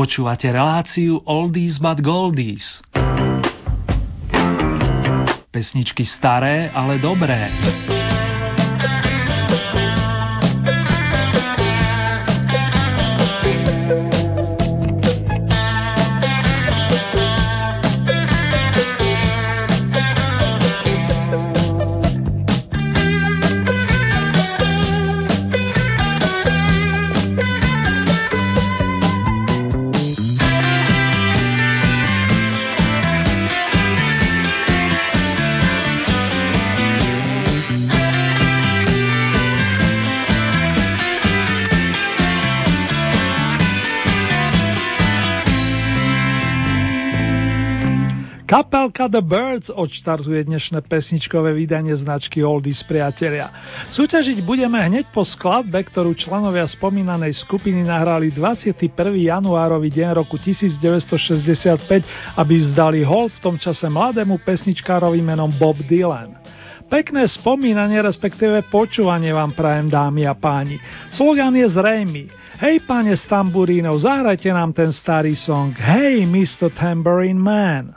Počúvate reláciu Oldies but Goldies. Pesničky staré, ale dobré. Kapelka The Birds odštartuje dnešné pesničkové vydanie značky Oldies priatelia. Súťažiť budeme hneď po skladbe, ktorú členovia spomínanej skupiny nahrali 21. januárový deň roku 1965, aby vzdali hold v tom čase mladému pesničkárovi menom Bob Dylan. Pekné spomínanie, respektíve počúvanie vám prajem, dámy a páni. Slogan je zrejmý. Hej, páne z tamburínov, zahrajte nám ten starý song. Hey, Mr. Tambourine Man.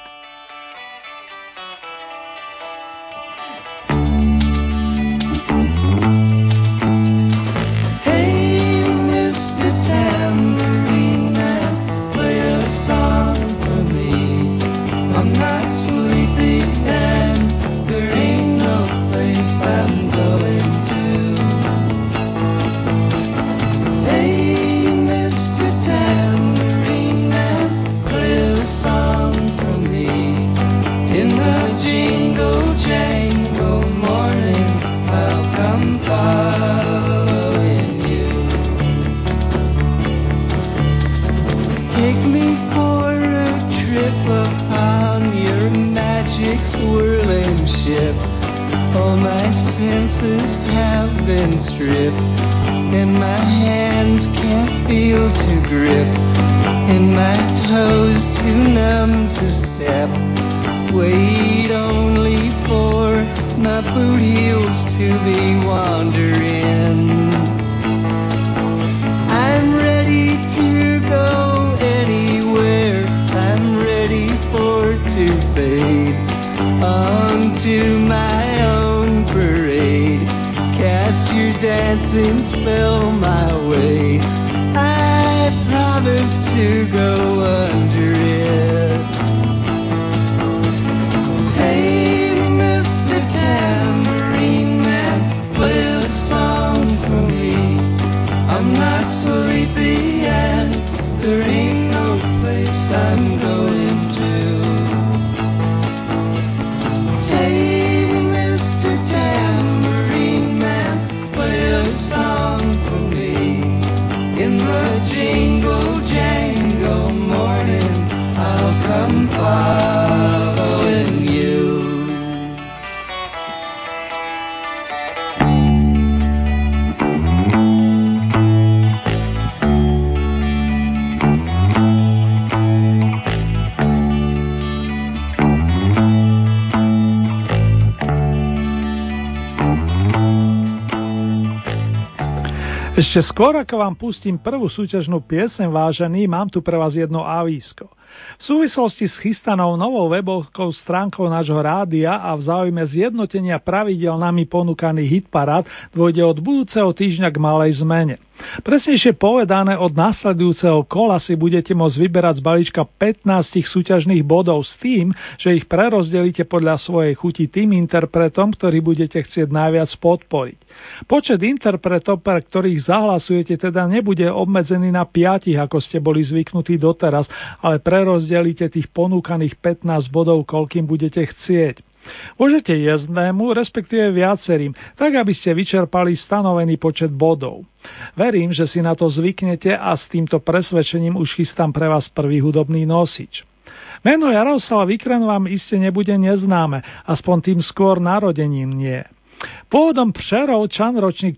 Ešte skôr, ako vám pustím prvú súťažnú pieseň, vážení, mám tu pre vás jedno avísko. V súvislosti s chystanou novou webovkou stránkou nášho rádia a v záujme zjednotenia pravidel nami ponúkaných hitparád dôjde od budúceho týždňa k malej zmene. Presnejšie povedané, od nasledujúceho kola si budete môcť vyberať z balíčka 15 súťažných bodov s tým, že ich prerozdelíte podľa svojej chuti tým interpretom, ktorý budete chcieť najviac podporiť. Počet interpretov, pre ktorých zahlasujete, teda nebude obmedzený na 5, ako ste boli zvyknutí doteraz, ale prerozdelíte tých ponúkaných 15 bodov, koľkým budete chcieť. Môžete jednému, respektíve viacerým, tak aby ste vyčerpali stanovený počet bodov. Verím, že si na to zvyknete a s týmto presvedčením už chystám pre vás prvý hudobný nosič. Meno Jaroslav Vikren vám iste nebude neznáme, aspoň tým skôr narodením nie. Pôvodom Přerovčan, ročník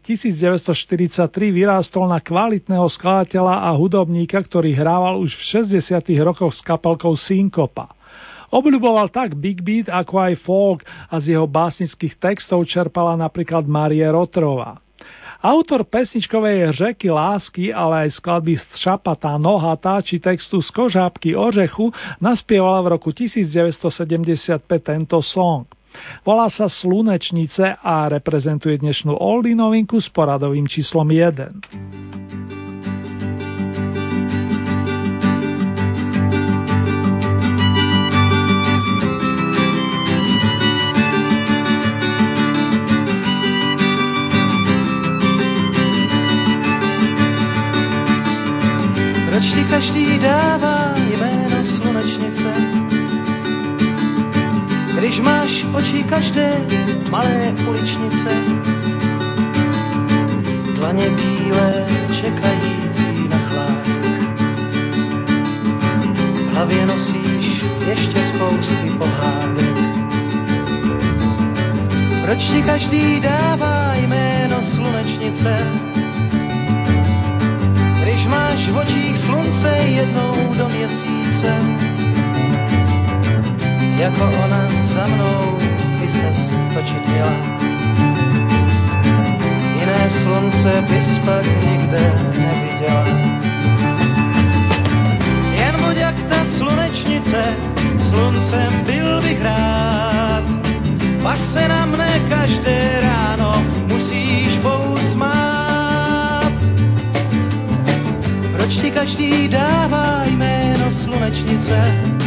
1943, vyrástol na kvalitného skladateľa a hudobníka, ktorý hrával už v 60. rokoch s kapelkou Synkopa. Obľuboval tak big beat ako aj folk a z jeho básnických textov čerpala napríklad Márie Rotrová. Autor pesničkovej Řeky lásky, ale aj skladby Šapatá nohatá či textu Z kožábky ořechu naspieval v roku 1975 tento song. Volá sa Slunečnice a reprezentuje dnešnú oldie novinku s poradovým číslom 1. Proč ti každý dává jméno slunečnice, když máš oči každé malé uličnice, dlaně bílé čekající na chládek, v hlavě nosíš ještě spousty pohádek. Proč ti každý dává jméno slunečnice, když máš v očích slunce jednou do měsíce, jako ona za mnou by ses točit měla. Jiné slunce bys pak nikde neviděla. Jen buď jak ta slunečnice, sluncem byl bych rád, pak se na mne každé ráno musíš pousmát. Proč ti každý dává jméno slunečnice?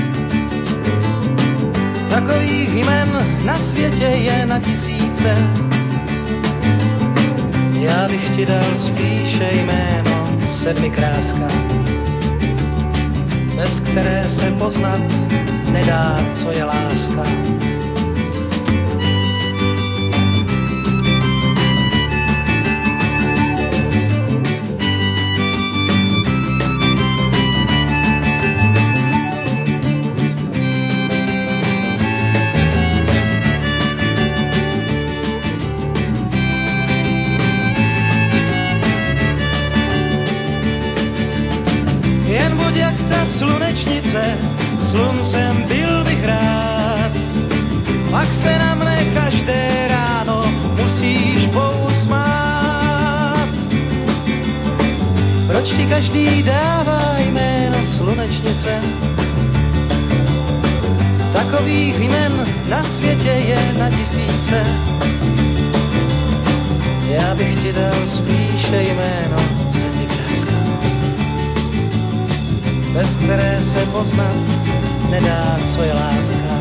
Takových jmen na světě je na tisíce. Já bych ti dal spíše jméno sedmikráska, bez které se poznat nedá, co je láska. Sluncem byl bych rád, pak se na mne každé ráno musíš pousmát. Proč ti každý dává jméno slunečnice? Takových jmen na světě je na tisíce. Já bych ti dal spíše jméno sedmikráska, bez které se poznat nedá, co je láska.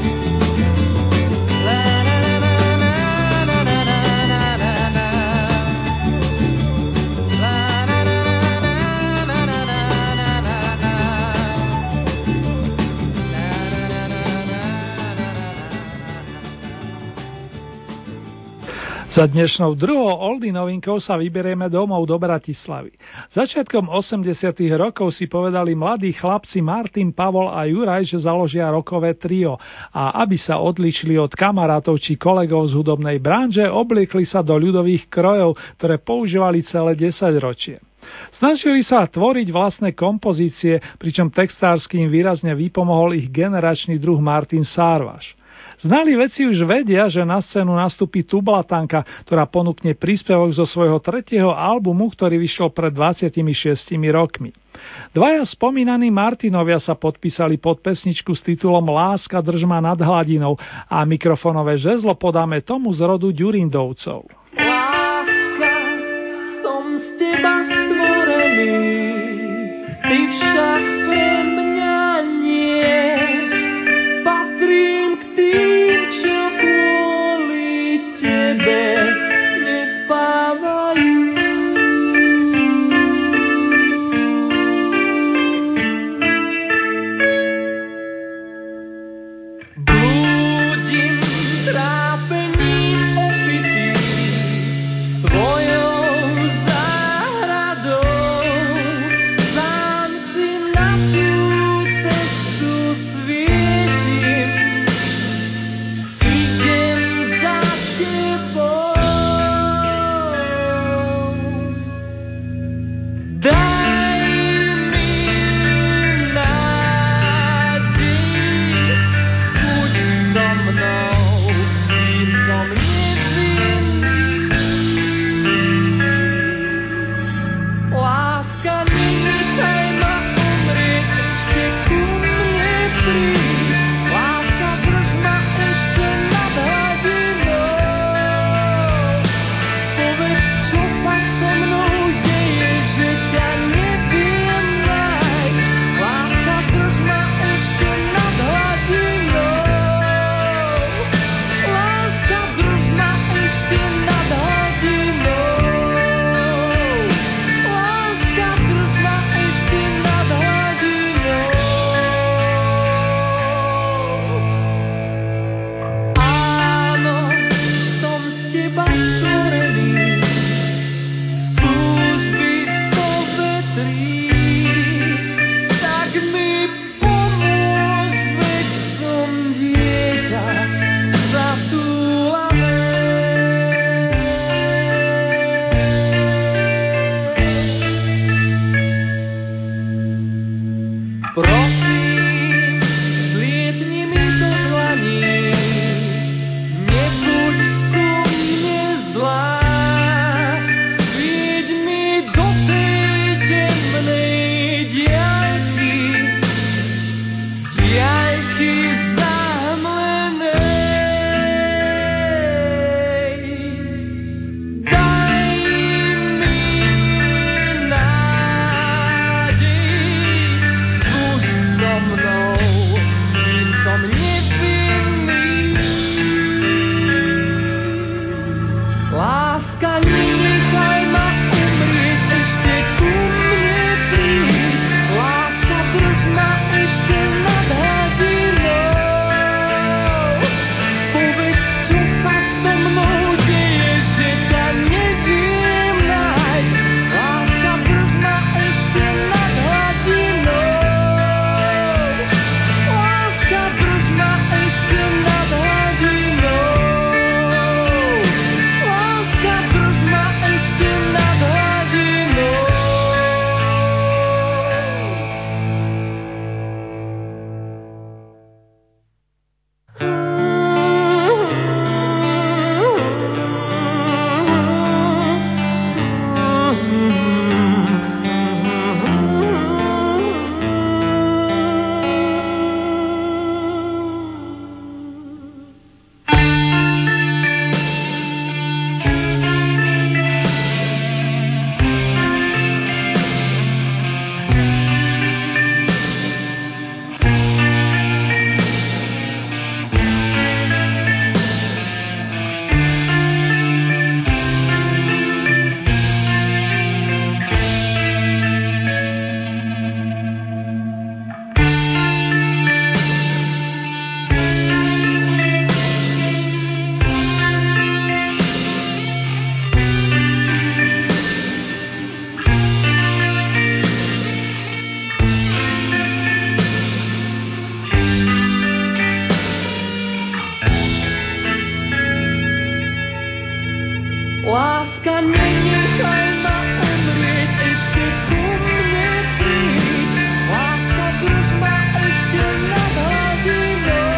Za dnešnou druhou oldie novinkou sa vyberieme domov do Bratislavy. Začiatkom 80. rokov si povedali mladí chlapci Martin, Pavol a Juraj, že založia rockové trio a aby sa odlišili od kamarátov či kolegov z hudobnej branže, obliekli sa do ľudových krojov, ktoré používali celé 10 ročie. Snažili sa tvoriť vlastné kompozície, pričom textársky im výrazne vypomohol ich generačný druh Martin Sárvaš. Znali veci už vedia, že na scénu nastúpi Tublatanka, ktorá ponúkne príspevok zo svojho 3. albumu, ktorý vyšiel pred 26 rokmi. Dvaja spomínaní Martinovia sa podpísali pod pesničku s titulom Láska drž ma nad hladinou a mikrofónové žezlo podáme tomu z rodu Ďurindovcov. Láska, som z teba stvorený, ty však pre mňa nie. Patrím k tým, čo kvôli tebe nespávajú. Blúdim trápením opitý tvojou záhradou, sám si na Prosím, zlietni mi do dlaní, nebuď ku mne zlá. Svieť mi do tej temnej diaľky, diaľky zamlenej. Daj mi nádej, buď so mnou, kým som nevinný. Láska, nenechaj ma umrieť, ešte ku mne príď. Láska, drž ma ešte nad hladinou. Povedz, čo sa so mnou deje, že ťa neviem nájsť. Láska, drž ma ešte nad hladinou. Láska, drž ma ešte nad hladinou. Láska, drž ma ešte nad hladinou. Láska, nenechaj ma umrieť, ešte ku mne príď. Láska, drž ma ešte nad hladinou.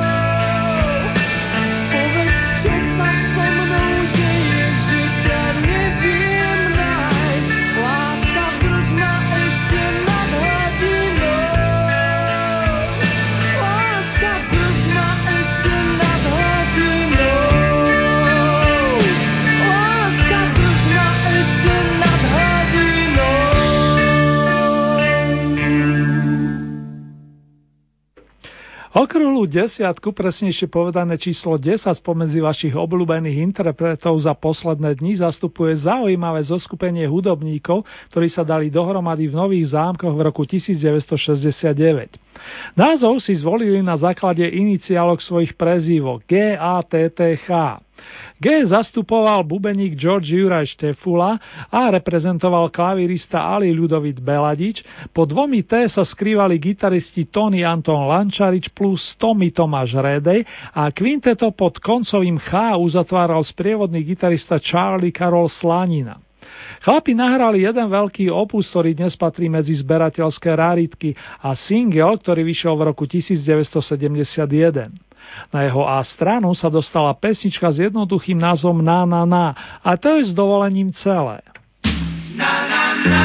Povedz, čo sa so mnou deje, že ťa neviem nájsť. Láska, drž ma ešte nad hladinou. Láska, drž ma ešte nad hladinou. Láska, drž ma ešte nad hladinou. Okrúhlu desiatku, presnejšie povedané číslo 10 spomedzi vašich obľúbených interpretov za posledné dni zastupuje zaujímavé zoskupenie hudobníkov, ktorí sa dali dohromady v Nových Zámkoch v roku 1969. Názov si zvolili na základe iniciálok svojich prezývok GATTH. G zastupoval bubeník George Juraj Štefula a reprezentoval klavirista Ali Ľudovít Beladič, po dvomi T sa skrývali gitaristi Tony Anton Lančarič plus Tommy Tomáš Redej a kvinteto pod koncovým Ch uzatváral sprievodný gitarista Charlie Karol Slanina. Chlapi nahrali jeden veľký opus, ktorý dnes patrí medzi zberateľské raritky a single, ktorý vyšiel v roku 1971. Na jeho A stranu sa dostala pesnička s jednoduchým názvom Na na na a to je s dovolením celé. Na na na.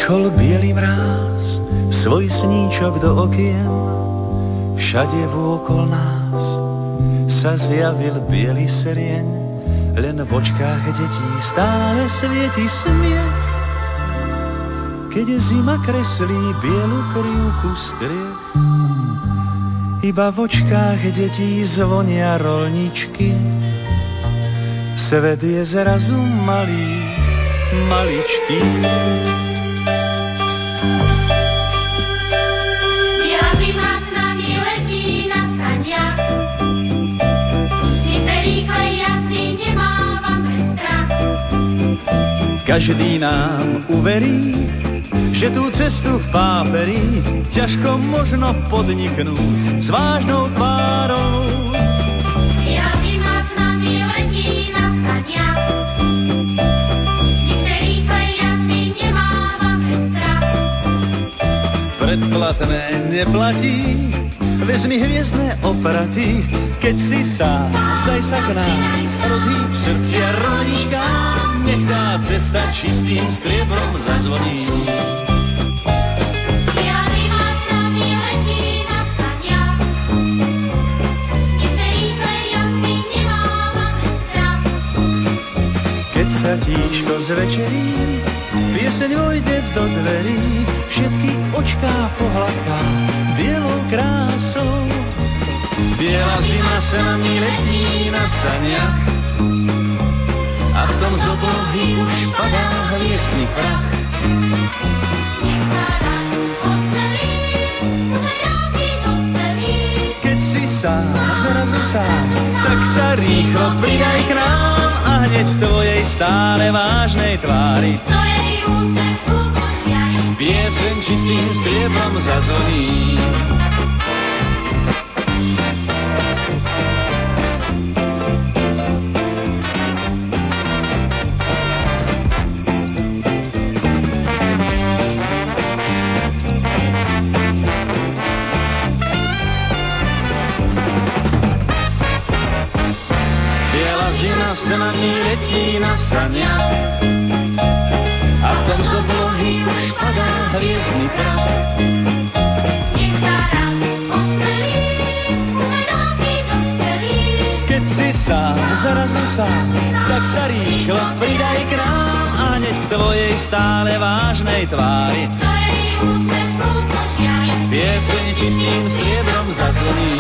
Prišol bielý mráz, svoj sníčok do okien, všade vôkol nás sa zjavil biely serieň, len v očkách detí stále svieti smiech. Keď zima kreslí bielu krivku striech, iba v očkách detí zvonia rolničky. Svet je zrazu malý, maličký. Biela zima s nami letí na saniach, my se rýchle jasný nemávame strach. Každý nám uverí, že tú cestu v páperi ťažko možno podniknúť s vážnou tvárou. Biela zima s nami letí na saniach, my se rýchle jasný nemávame strach. Predplatné neplatí, vezmi hviezdne opraty, keď si sám, daj sa k nám, rozhýb srdcia rolnička, nech tá cesta čistým striebrom zazvoní. Biela zima s nami letí na saniach, my se rýchle jasný nemávame strach. Keď sa tíško zvečerí, pieseň vojde do dverí, všetky očká pohľadká bielou krásou. Biela zima sa nami letí na saniach a v tom z oblohy už padá hviezdny prach. Nech sa raz odcelí, zajráky docelí. Keď si sám, zrazu sám, tak sa rýchlo pridaj k nám a hneď v tvojej stále vážnej tvári Ktorej úsmev skúpočiaj, pieseň čistým striebrom zazvoní. Sa nami letí na saniach a v tom z oblohy už padá hviezdny prach. nech sa raz odcelí, zajráky docelí. Keď si sám, zrazu sám, tak sa rýchlo pridaj k nám a hneď v tvojej stále vážnej tvári Ktorej úsmev skúpočiaj, pieseň čistým striebrom zazvoní.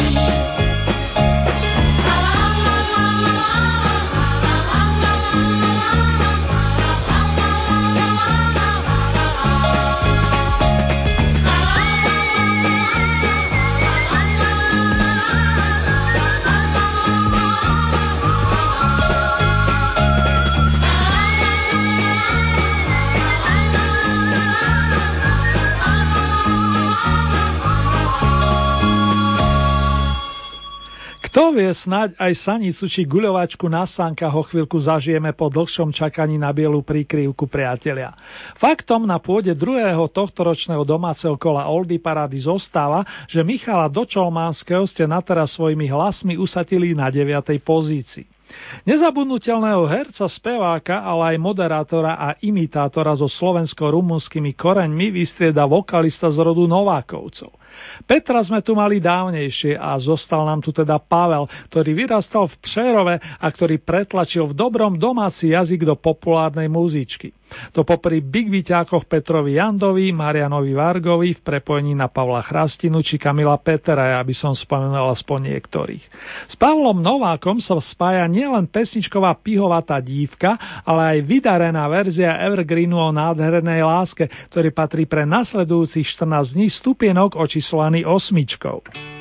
Kto vie, snáď aj sanicu či guľovačku na sánkach o chvíľku zažijeme po dlhšom čakaní na bielu príkrývku, priatelia. Faktom na pôde druhého tohtoročného domáceho kola Oldie Parády zostáva, že Michala Dočolmánskeho ste nateraz svojimi hlasmi usadili na 9. pozícii. Nezabudnutelného herca, speváka, ale aj moderátora a imitátora so slovensko-rumunskými koreňmi vystrieda vokalista z rodu Novákovcov. Petra sme tu mali dávnejšie a zostal nám tu teda Pavel, ktorý vyrastal v Přerove a ktorý pretlačil v dobrom domáci jazyk do populárnej muzičky. To popri Big Vyťákoch Petrovi Jandovi, Marianovi Vargovi, v prepojení na Pavla Chrastinu či Kamila Petera, aby som spomenul aspoň niektorých. S Pavlom Novákom sa spája nielen pesničková pihovatá dívka, ale aj vydarená verzia Evergreenu o nádhernej láske, ktorý patrí pre nasledujúcich 14 dní stupienok očíslovaný 8.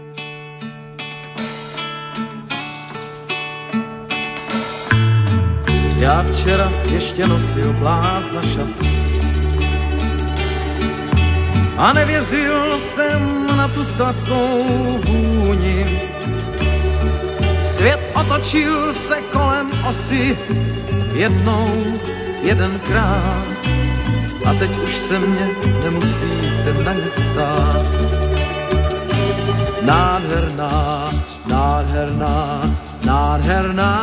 Já včera ještě nosil blázna šatu a nevěřil jsem na tu sladkou vůni. Svět otočil se kolem osy jednou, jedenkrát a teď už se mě nemusíte na nic ptát. Nádherná, nádherná, nádherná,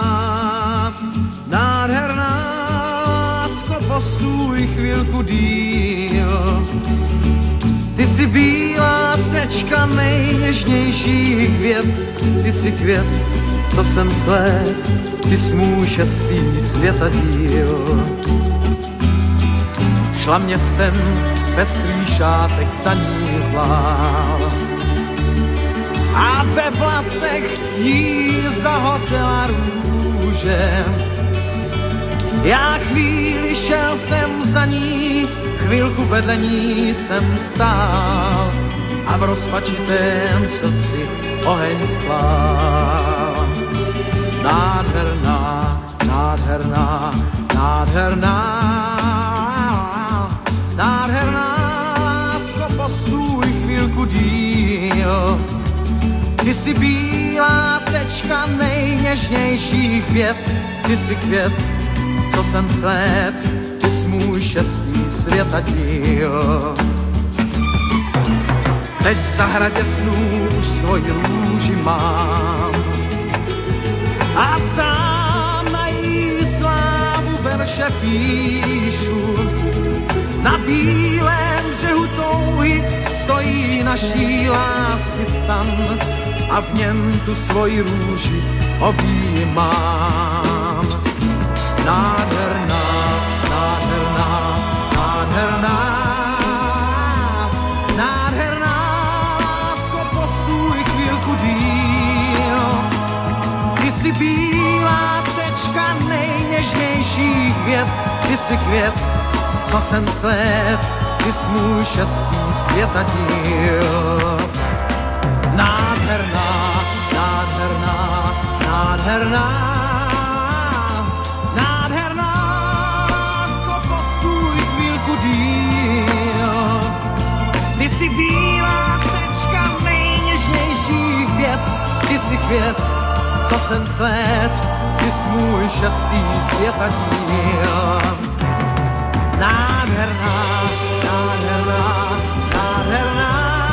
nádherná, lásko, postůj chvílku dých. nejněžnějších věd, ty jsi květ, co jsem slép, ty jsi můj šestý světa díl. Šla městem pestrý šátek zanízlá a ve vlasech jí zahořela růže. Já chvíli šel jsem za ní, chvilku vedle ní jsem stál a v rozpačitém srdci oheň sklál. Nádherná, nádherná, nádherná, nádherná, lásko, postůj chvilku díl. Ty jsi bílá tečka nejněžnějších věd, ty jsi květ, co jsem slép, ty jsi můj šestý světa díl. Teď v zahradě snů už svoji růži mám a sám na jí slávu verše píšu. Na bílém břehu touhy stojí naší lásky stan a v něm tu svoji růži objímám. Nádherná, nádherná, nádherná, nádherná, lásko, postůj chvílku díl. Ty jsi bílá tečka nejněžnějších věd, ty jsi květ, co jsem slep, ty jsi můj šestý světa díl. Nádherná, nádherná, nádherná, nádherná, lásko, postůj chvílku díl. Ty jsi bílá tečka nejněžnějších věd, ty jsi květ, co jsem slep, ty jsi můj šestý světa díl. Nádherná, nádherná, nádherná,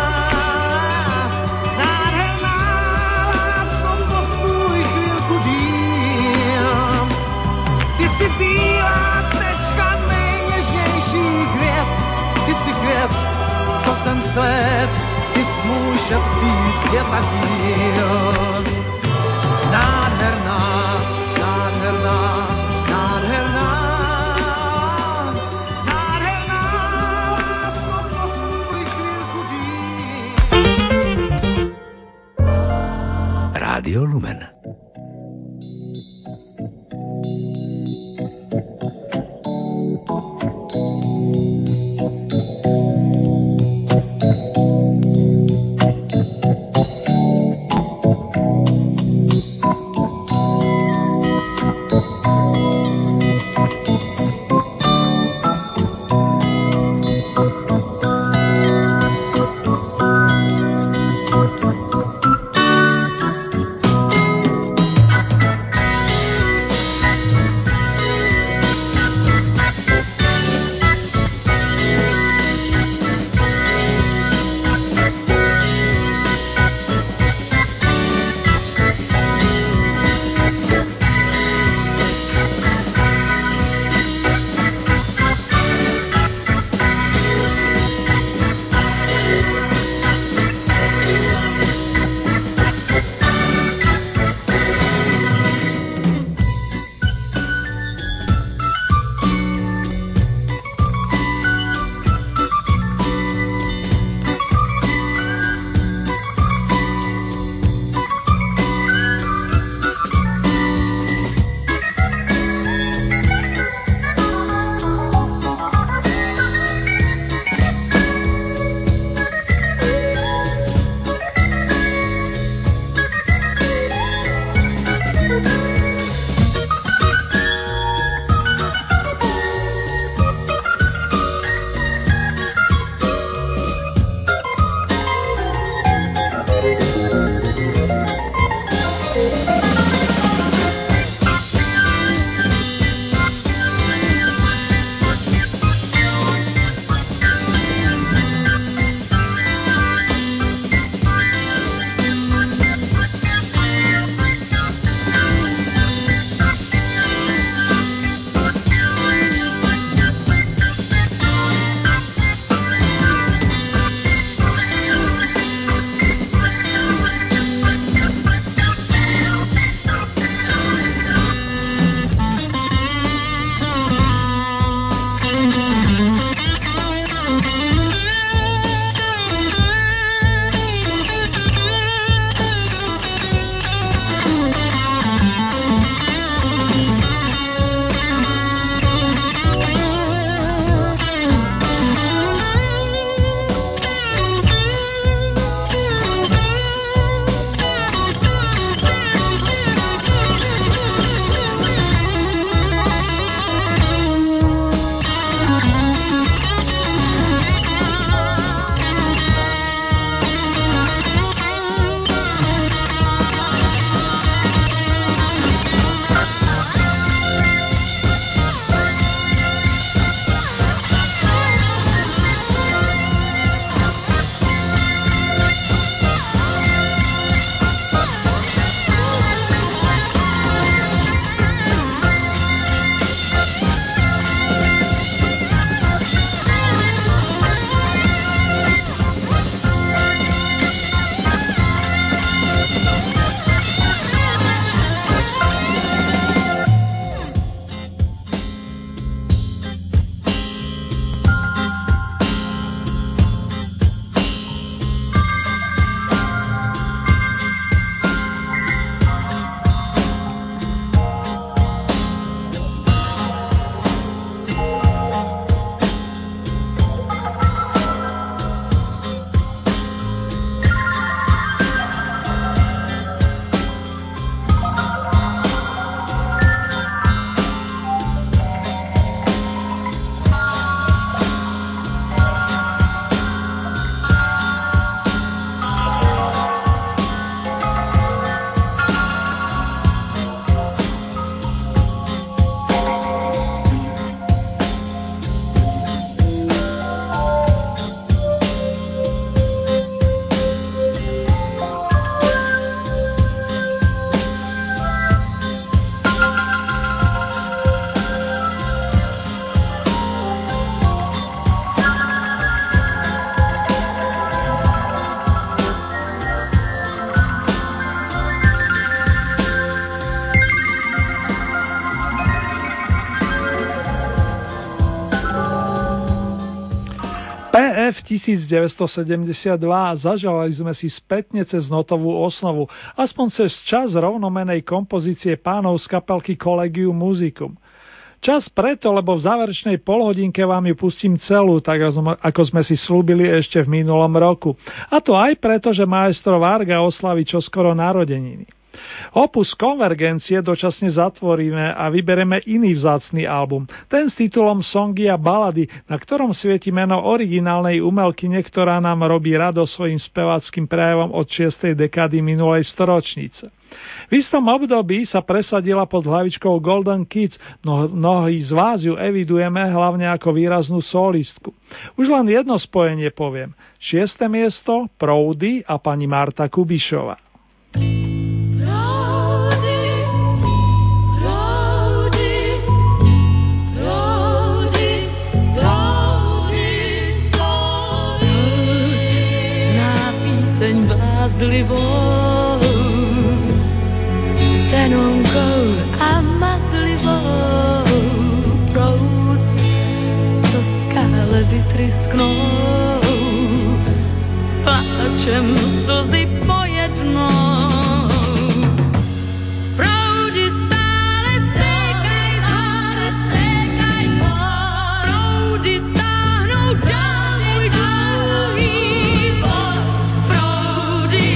nádherná, lásko, postůj chvílku díl. Ty jsi bílá tečka nejněžnějších věd, ty jsi květ, co jsem slep, ty jsi můj šestý světa díl. Nádherná, nádherná, nádherná, Rádio Lumen. F1972 zaželali sme si spätne cez notovú osnovu, aspoň cez čas rovnomenej kompozície pánov z kapelky Collegium Musicum. Čas preto, lebo v záverečnej polhodinke vám ju pustím celú, tak ako sme si slúbili ešte v minulom roku. A to aj preto, že maestro Varga oslaví čoskoro narodeniny. Opus Konvergencie dočasne zatvoríme a vybereme iný vzácny album, ten s titulom Songy a balady, na ktorom svieti meno originálnej umelkyne, ktorá nám robí radosť svojim speváckym prejavom od 6. dekády minulej storočnice. V istom období sa presadila pod hlavičkou Golden Kids, mnohí z vás ju evidujeme hlavne ako výraznú solistku. Už len jedno spojenie poviem. 6. miesto, Proudy a pani Marta Kubišová. Tenonkou a mazlivou proud, co skále vytrysknou, pláčem slzy pojednou. Proudy stále stékají, proudy táhnou dál můj dlouhý boj. Proudy,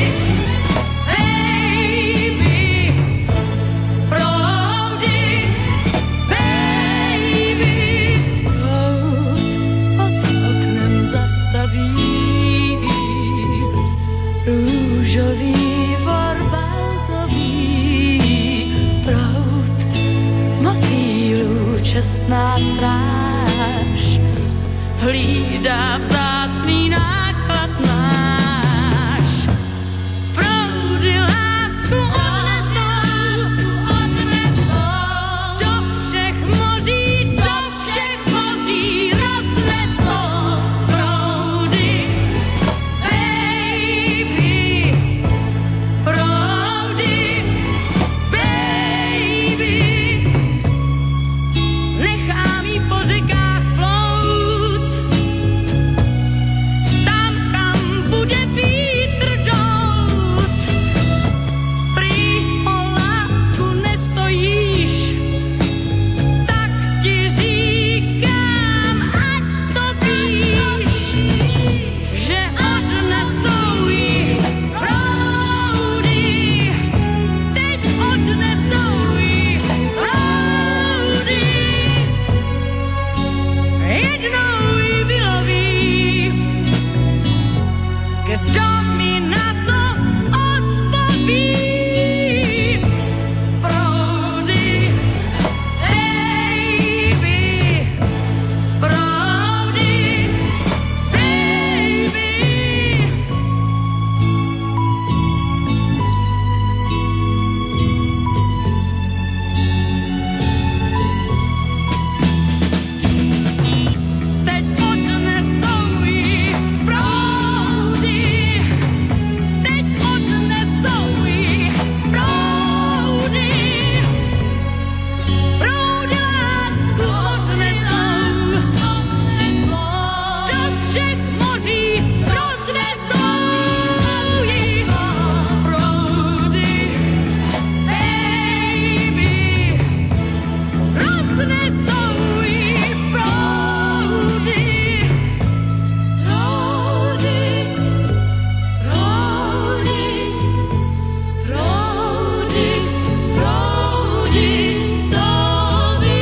čestná stráž hlídá vzácný náklad náš. Proudy lásku odnesou do všech moří roznesou. Proudy, baby, proudy, baby. Nechám jí po řekách plout, tam, kam bude vítr dous. Prý o lásku nestojíš, tak ti říkám, ať to víš, že odnesou jí proudy, teď odnesou jí proudy. Jednou jí vyloví, kdo mi na to odpoví. Proudy, baby, proudy, baby. Teď odnesou jí proudy, teď odnesou jí proudy. Proudy lásku odnesou, do všech moří roznesou jí. Proudy, baby, roznesou jí proudy. Proudy, proudy, proudy, proudy, to ví.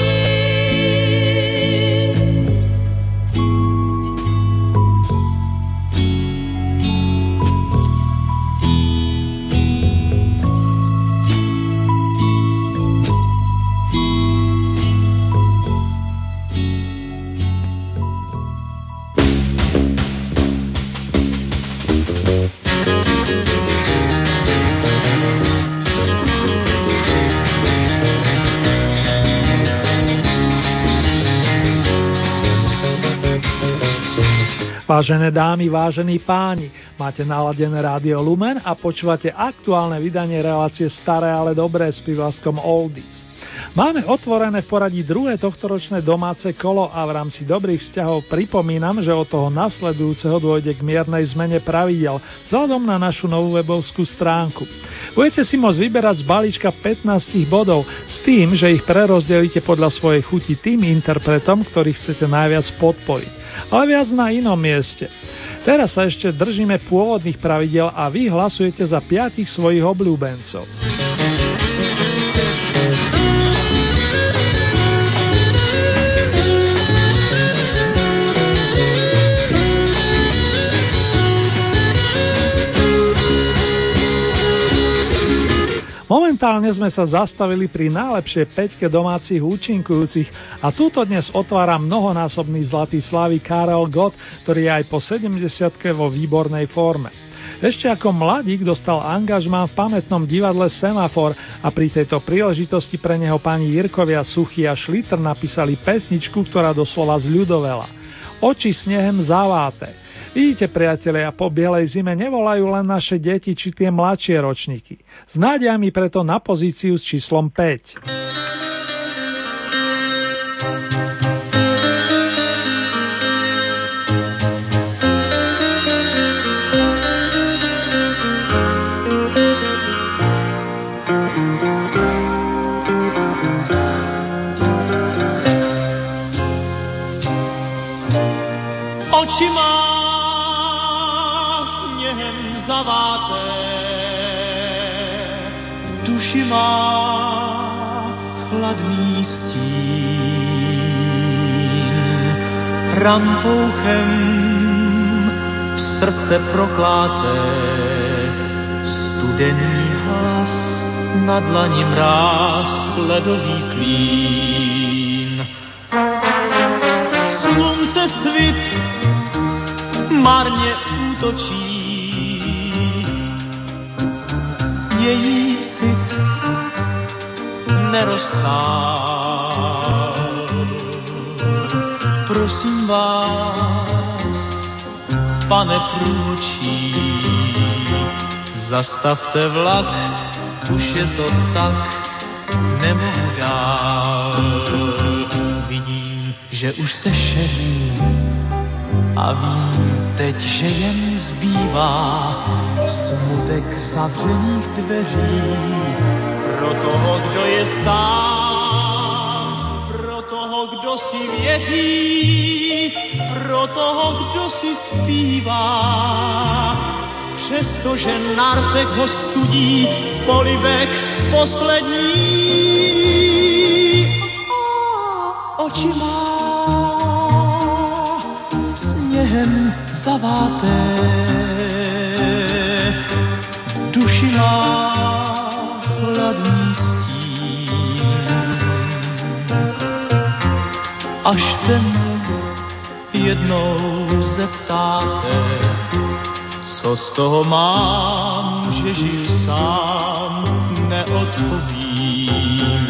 Vážené dámy, vážení páni, máte naladené Rádio Lumen a počúvate aktuálne vydanie relácie Staré, ale dobré s prívlaskom Oldies. Máme otvorené v poradí druhé tohtoročné domáce kolo a v rámci dobrých vzťahov pripomínam, že od toho nasledujúceho dôjde k miernej zmene pravidiel vzhľadom na našu novú webovskú stránku. Budete si môcť vyberať z balíčka 15 bodov s tým, že ich prerozdelíte podľa svojej chuti tým interpretom, ktorých chcete najviac podporiť, ale viac na inom mieste. Teraz sa ešte držíme pôvodných pravidiel a vy hlasujete za 5 svojich obľúbencov. Momentálne sme sa zastavili pri najlepšej 5 domácich účinkujúcich a túto dnes otvára mnohonásobný zlatý slávy Karel Gott, ktorý je aj po 70-ke vo výbornej forme. Ešte ako mladík dostal angažmán v pamätnom divadle Semafor a pri tejto príležitosti pre neho pani Jirkovia Suchy a Šlitr napísali pesničku, ktorá doslova zľudovela. Oči snehem zaváte. Vidíte, priatelia, po bielej zime nevolajú len naše deti či tie mladšie ročníky. S nádejami preto na pozíciu s číslom 5. Oči má zaváté, duši má chladný stín, rampouchem srdce prokláté, studený hlas, na dlani mráz, ledový klín. Slunce svit marně útočí, její cit neroztál. Prosím vás, pane průvodčí, zastavte vlak, už je to tak, nemohu dál. Vidím, že už se šeří a vím teď, že jen zbývá smutek zavřených dveří pro toho, kdo je sám, pro toho, kdo si věří, pro toho, kdo si zpívá. Přestože na rtech ho studí polibek poslední. Oči má sněhem zaváté, duši má chladný stín. Až se mě jednou zeptáte, co z toho mám, že žiju sám, neodpovím.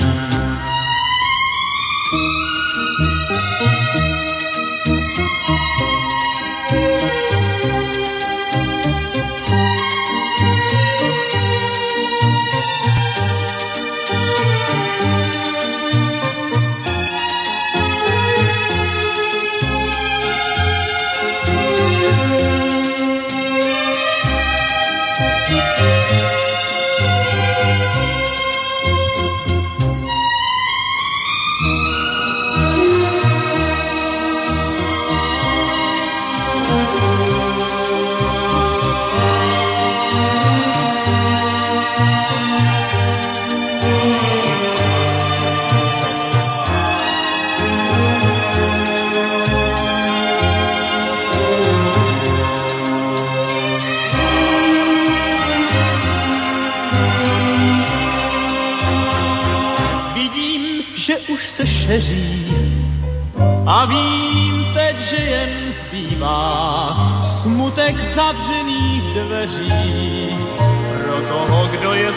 A vím teď, že jen zbývá smutek zavřených dveří pro toho, kdo je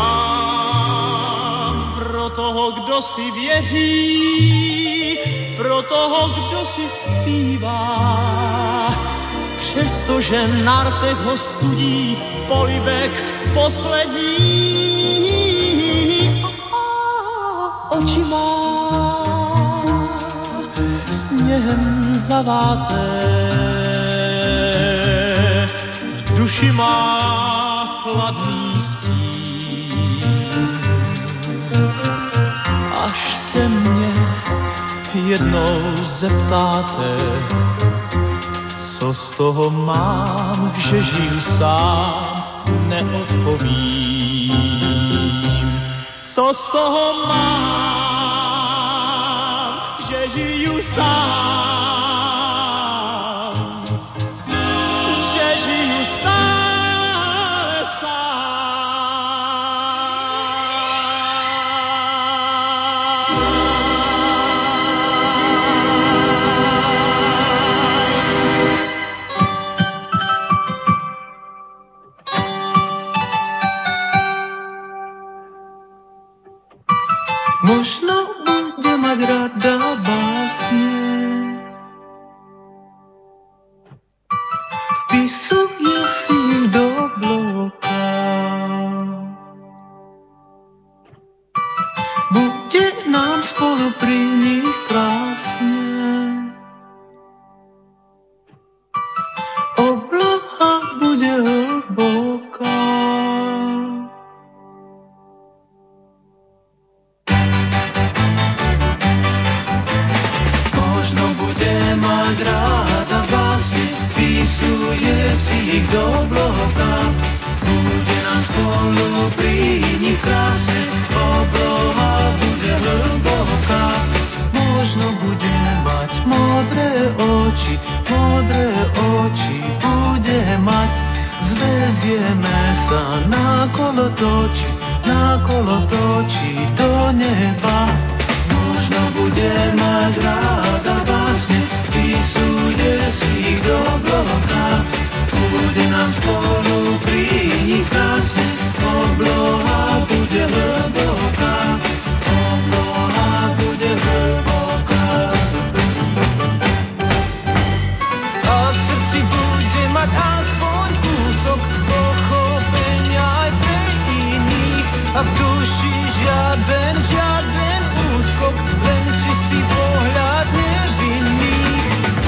sám, pro toho, kdo si věří, pro toho, kdo si zpívá. Přestože na rtech ho studí polibek poslední. Oči zaváté, v duši má chladný stín. Až se mě jednou zeptáte, co z toho mám, že žiju sám, neodpovím. Co z toho mám, že žiju sám, že žiju stále Možno bude mať rada básne, vpisuje si ich do bloka. Bude nám spolu pri nich krásne, obloha bude hlboká. Do bloka, bude nám spolu pri nich krásne, obloha bude hlboká. Možno bude mať modré oči bude mať, zvezieme sa na kolo točí do neba. Možno bude mať ráda básne, vpisuje si ich do bloka. Bude nám spolu pri nich krásne, obloha bude hlboká, obloha bude hlboká. A v srdci bude mať aspoň kúsok pochopenia aj pre iných, a v duši žiaden úskok, len čistý pohľad nevinných.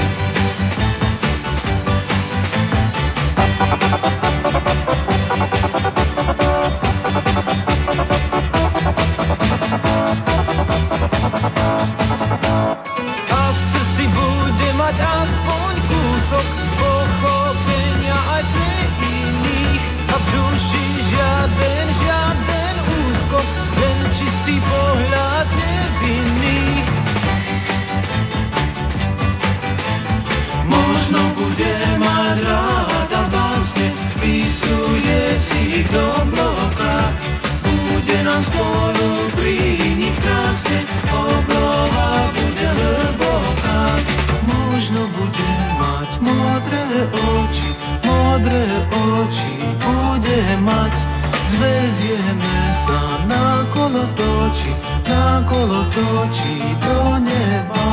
A v srdci bude mať aspoň kúsok pochopenia aj pre iných, a v duši žiaden úskok, len čistý pohľad nevinných. Možno bude mať ráda básne, vpisuje si ich do bloka. Bude nám spolu pri nich krásne, obloha bude hlboká. Možno bude mať modré oči bude mať, zvezieme sa na kolo točí do neba.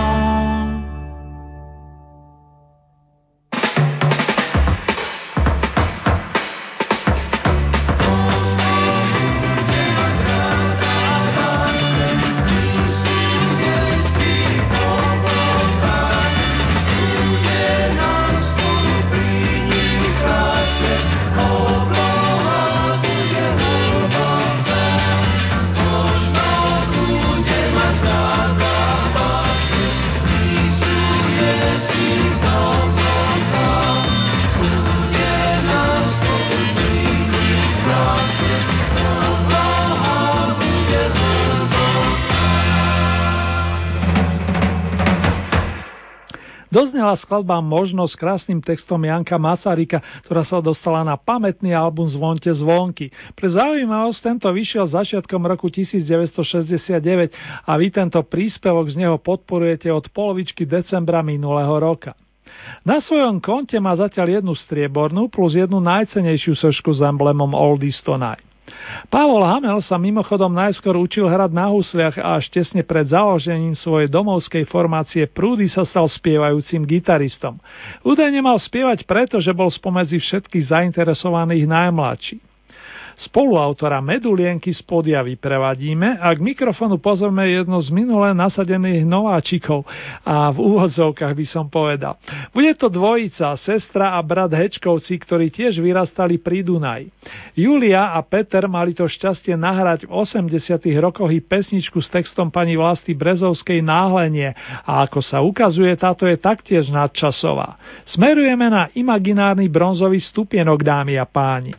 Doznela skladba Možno s krásnym textom Janka Masaryka, ktorá sa dostala na pamätný album Zvonte zvonky. Pre zaujímavosť tento vyšiel začiatkom roku 1969 a vy tento príspevok z neho podporujete od polovičky decembra minulého roka. Na svojom konte má zatiaľ jednu striebornú plus jednu najcenejšiu sošku s emblemom Oldies Tonight. Pavol Hamel sa mimochodom najskôr učil hrať na husliach a až tesne pred založením svojej domovskej formácie Prúdy sa stal spievajúcim gitaristom. Údajne mal spievať preto, že bol spomedzi všetkých zainteresovaných najmladší. Spoluautora Medulienky z podia vyprevadíme a k mikrofonu pozveme jedno z minulé nasadených nováčikov a v úvodzovkách by som povedal. Bude to dvojica, sestra a brat Hečkovci, ktorí tiež vyrastali pri Dunaji. Julia a Peter mali to šťastie nahrať v 80. rokoch i pesničku s textom pani Vlasty Brezovskej Náhlenie a ako sa ukazuje, táto je taktiež nadčasová. Smerujeme na imaginárny bronzový stupienok, dámy a páni.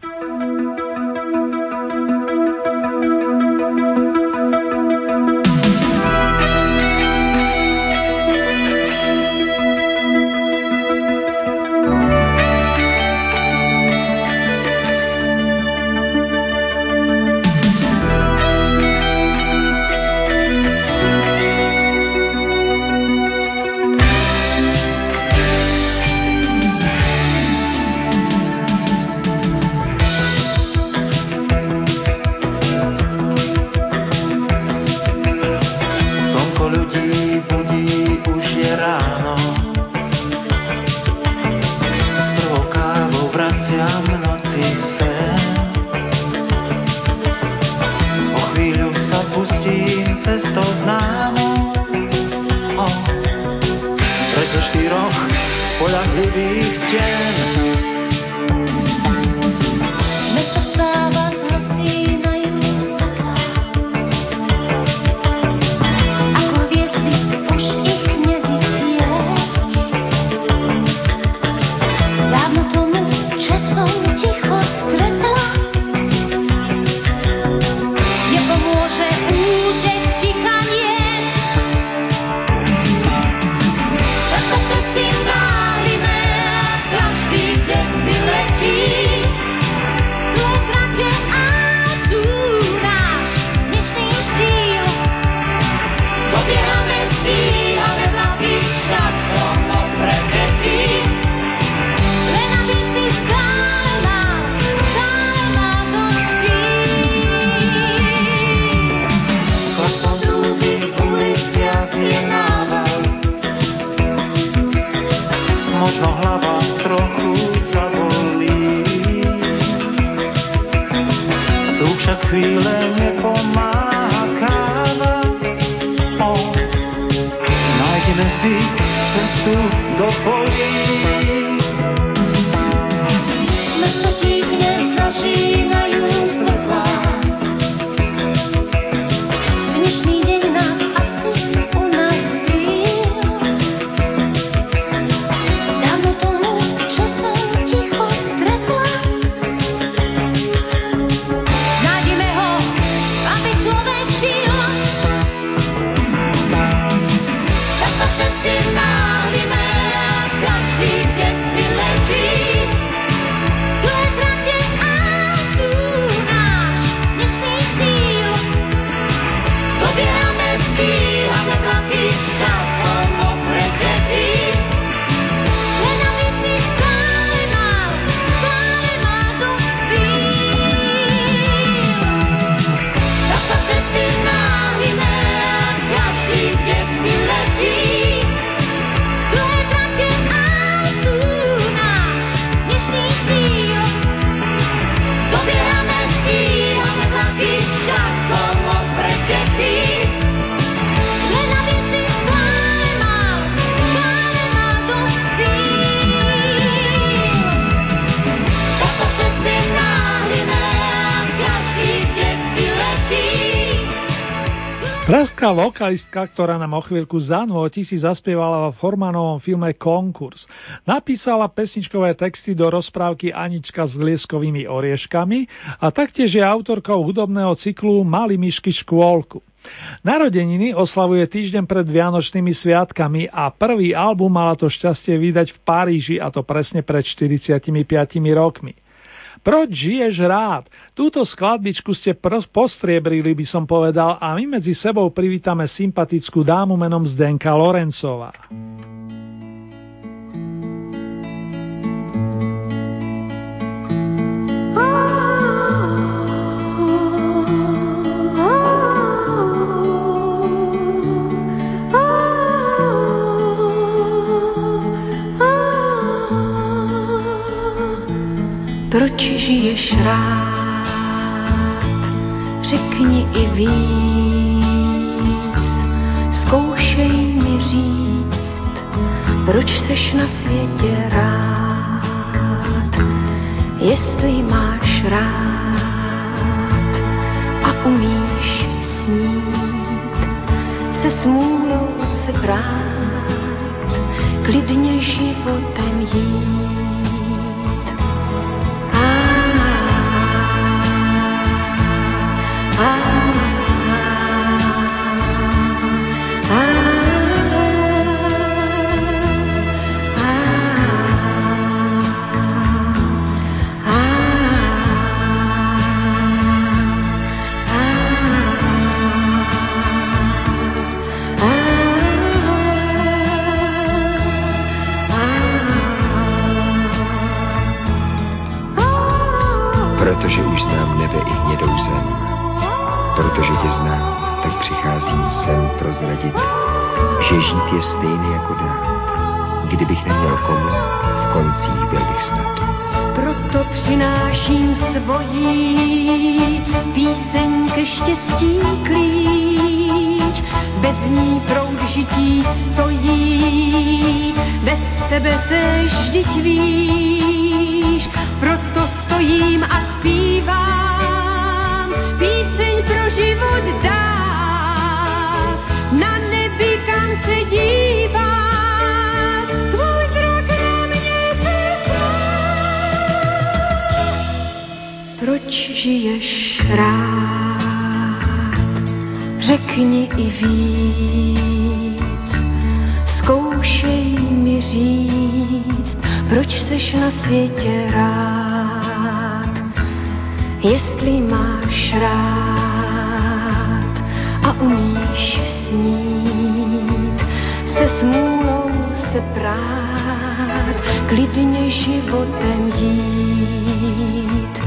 Pražská vokalistka, ktorá nám o chvíľku zanúti, si zaspievala vo Formanovom filme Konkurs. Napísala pesničkové texty do rozprávky Anička s lieskovými orieškami a taktiež je autorkou hudobného cyklu Mali myšky škôlku. Narodeniny oslavuje týždeň pred Vianočnými sviatkami a prvý album mala to šťastie vydať v Paríži, a to presne pred 45 rokmi. Proč žiješ rád? Túto skladbičku ste postriebrili, by som povedal, a my medzi sebou privítame sympatickú dámu menom Zdenka Lorencová. Proč žiješ rád? i víc. Zkoušej mi říct, proč seš na světě rád, jestli máš rád a umíš snít, se smůlou se brát, klidně životem jít. Protože už znám nebe i hnědou zem, protože tě znám, tak přicházím sem prozradit, že žít je stejný jako dát. Kdybych neměl komu, v koncích byl bych snad. Proto přináším svojí píseň ke štěstí klíč, bez ní proud žití stojí, bez tebe též vždyť víš. Proto stojím a zpívám píseň pro život dát, na nebi kam se dívám, tvůj zrak na mě se Proč žiješ rád, řekni i víc, zkoušej mi říct, proč seš na světě rád, jestli máš rád a umíš snít, se smůlou se prát, klidně životem jít.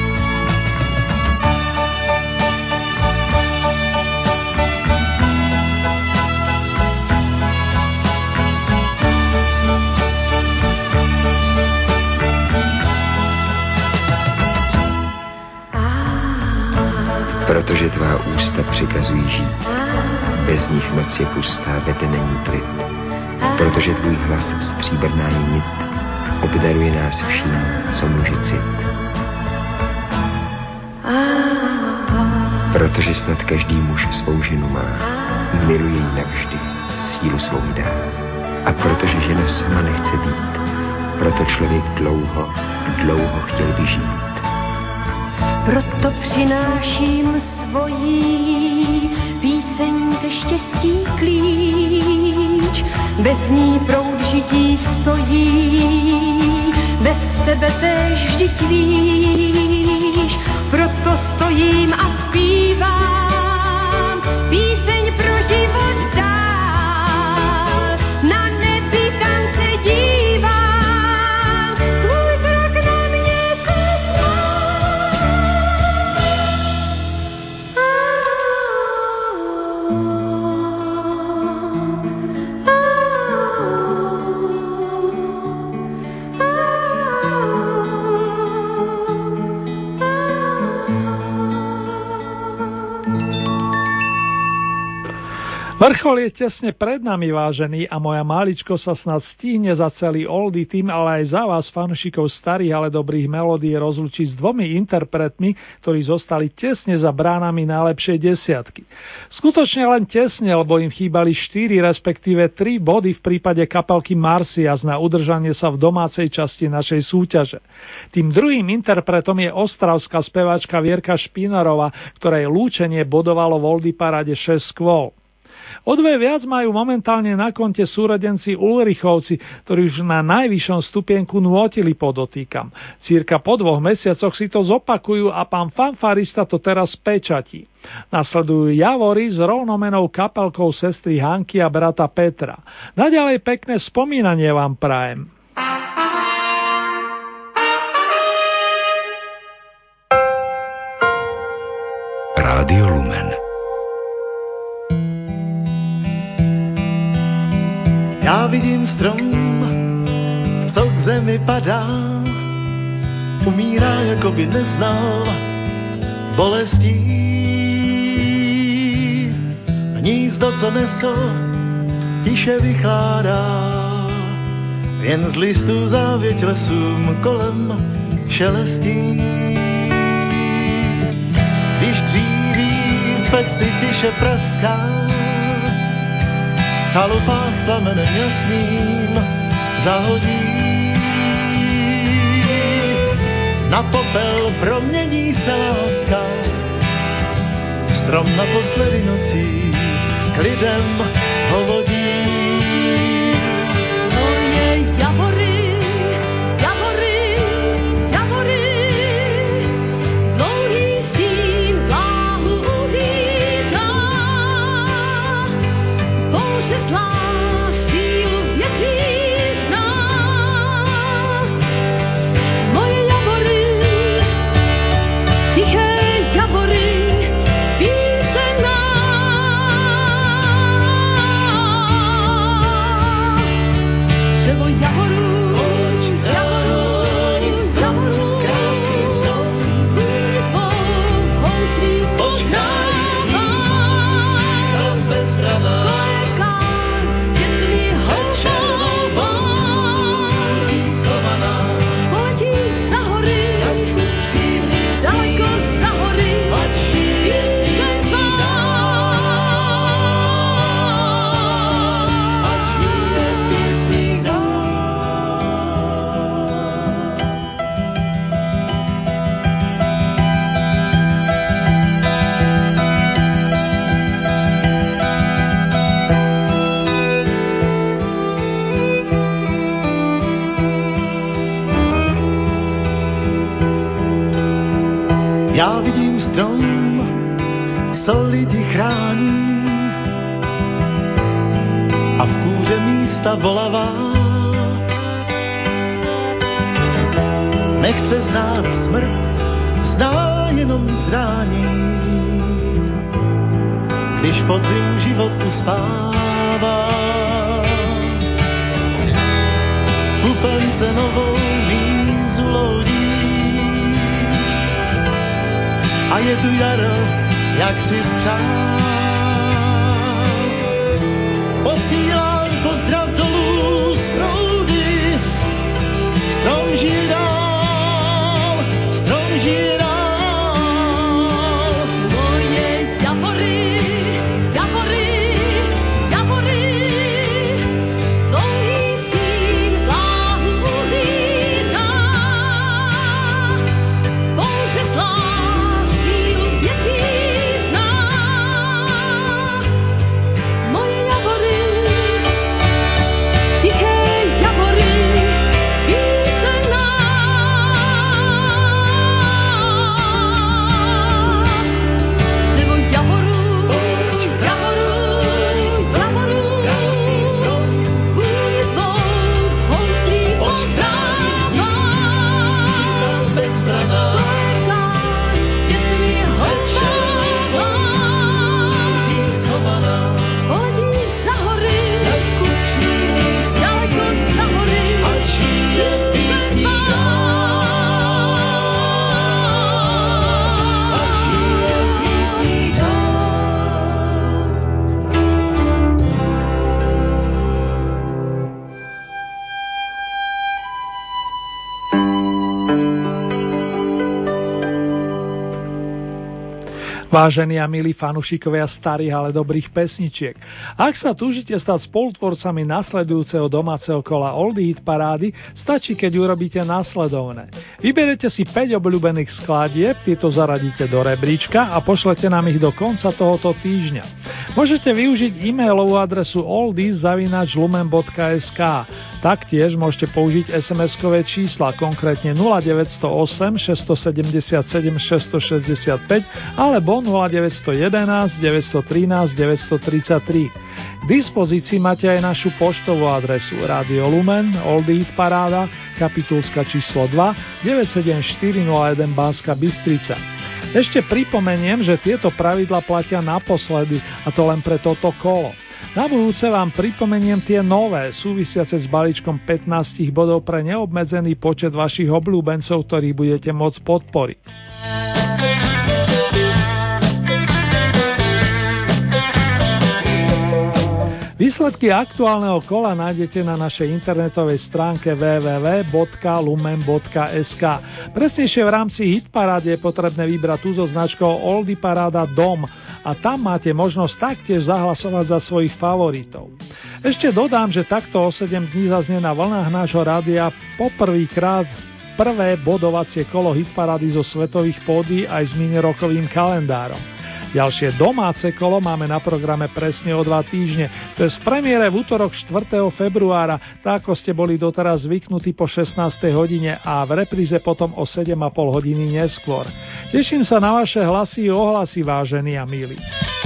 Protože tvá ústa přikazují žít, bez nich noc je pustá, ve dne není klid. Protože tvůj hlas stříbrná je nit, obdaruje nás vším, co může cit. Protože snad každý muž svou ženu má, miluje ji navždy, sílu svou dá. A protože žena sama nechce být, proto člověk dlouho, dlouho chtěl vyžít. Proto přináším svojí píseň ke štěstí klíč, bez ní proud žití stojí, bez tebe též vždyť víš. Proto stojím a zpívám píseň pro život dál, na nebi kam se dívám, tvůj zrak na mě se Vrchol je tesne pred nami, vážený, a moja máličko sa snad stihne za celý Oldie tým, ale aj za vás, fanúšikov starých, ale dobrých melódií, rozlučiť s dvomi interpretmi, ktorí zostali tesne za bránami najlepšej desiatky. Skutočne len tesne, lebo im chýbali 4, respektíve 3 body v prípade kapelky Marcias na udržanie sa v domácej časti našej súťaže. Tým druhým interpretom je ostravská speváčka Vierka Špinarová, ktorej lúčenie bodovalo v Oldie paráde 6 skôl. O 2 viac majú momentálne na konte súrodenci Ulrichovci, ktorí už na najvyššom stupienku nôtili, podotýkam. Cirka po 2 mesiacoch si to zopakujú a pán fanfarista to teraz pečatí. Nasledujú Javory s rovnomenou kapelkou sestry Hanky a brata Petra. Naďalej pekné spomínanie vám prajem. Rádio Lumen. Já vidím strom, co k zemi padá, umírá, jako by neznal bolestí. co nesl, tiše vychládá. Jen z listů závěť lesům kolem šelestí. Když dříví v peci tiše praská, v chalupách plamenem jasným zahodí. Na popel promění se láska, strom naposledy nocí k lidem hovodí. Moje javory, javory, javory, dlouhý stín vláhu uvítá. Bouře zlá sílu větví zná. Moje javory, tiché javory, písená. Dřevo javorů, javorů, javorů, krásný strom, tvou houslí poznává. Strom bezbranná, koleká, dětmi houšová, schovaná, poletí za hory, daleko za hory, písená. Já vidím strom, co lidi chrání, a v kůře místa volavá. Nechce znát smrt, zná jenom zrání. Když podzim život uspává, pupence novou vízu loudí. A je tu jaro, jak si spřál. Posílám pozdrav dolů z proudy. Strom žije dál, strom žije dál. Moje javory, javory, javory, dlouhý stín vláhu uvítá. Bouře zlá sílu větví zná. Moje javory, tiché javory, písená. Dřevo javorů, javorů, javorů, kůň tvou houslí poznává. Bezbranná, Koleká, dětmi houšová, schovaná, poletí za hory, daleko za hory, a žije písní Vážení a milí fanúšikovia starých, ale dobrých pesničiek, ak sa túžite stať spolutvorcami nasledujúceho domáceho kola Oldie Hit parády, stačí, keď urobíte nasledovné. Vyberete si 5 obľúbených skladieb, tieto zaradíte do rebríčka a pošlete nám ich do konca tohoto týždňa. Môžete využiť e-mailovú adresu oldies@lumen.sk. Taktiež môžete použiť SMS-kové čísla, konkrétne 0908 677 665 alebo 0911 913 933. K dispozícii máte aj našu poštovú adresu Radio Lumen, Oldie Hit paráda, Kapitulska číslo 2, 97401 Banská Bystrica. Ešte pripomeniem, že tieto pravidlá platia naposledy, a to len pre toto kolo. Na budúce vám pripomeniem tie nové, súvisiace s balíčkom 15 bodov pre neobmedzený počet vašich obľúbencov, ktorých budete môcť podporiť. Výsledky aktuálneho kola nájdete na našej internetovej stránke www.lumen.sk. Presnejšie v rámci Hitparády je potrebné vybrať tú so značkou Oldie Paráda Dom a tam máte možnosť taktiež zahlasovať za svojich favoritov. Ešte dodám, že takto o 7 dní zaznie na vlnách nášho rádia poprvýkrát prvé bodovacie kolo Hitparády zo svetových pódií aj s minirokovým kalendárom. Ďalšie domáce kolo máme na programe presne o 2 týždne. To je z premiére v útorok 4. februára, tak ako ste boli doteraz zvyknutí po 16. hodine a v repríze potom o 7,5 hodiny neskôr. Teším sa na vaše hlasy a ohlasy, vážení a milí.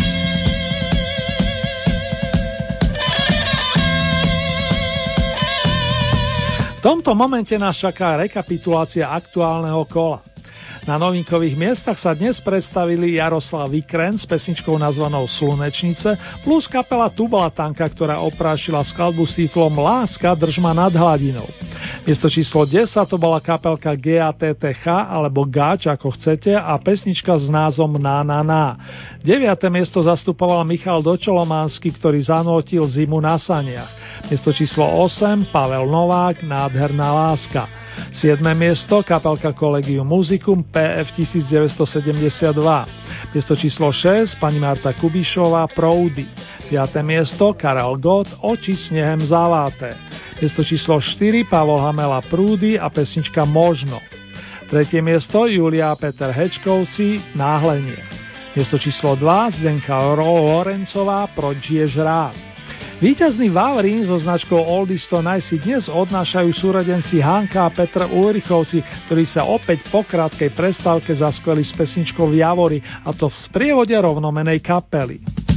V tomto momente nás čaká rekapitulácia aktuálneho kola. Na novinkových miestach sa dnes predstavili Jaroslav Vikren s pesničkou nazvanou Slunečnice plus kapela Tubalatanka, ktorá oprášila skladbu s titulom Láska drž ma nad hladinou. Miesto číslo 10 to bola kapelka GATTH alebo Gáč ako chcete a pesnička s názvom Na na na. 9. miesto zastupoval Michal Dočolománsky, ktorý zanútil Zimu na saniach. Miesto číslo 8 Pavel Novák Nádherná láska. 7. miesto kapelka Collegium Musicum PF 1972. Miesto číslo 6 pani Marta Kubišová Proudy. 5. miesto Karel Gott Oči snehem zaláté. Miesto číslo 4 Pavol Hamela Prúdy a pesnička Možno. 3. miesto Julia a Peter Hečkovci Náhlenie. Miesto číslo 2 Zdenka Lorencová Proč žiješ rád. Víťazný Vavrín so značkou Oldies to Nice si dnes odnášajú súrodenci Hanka a Petr Ulrichovci, ktorí sa opäť po krátkej prestávke zaskveli s pesničkou v Javori, a to v sprievode rovnomenej kapely.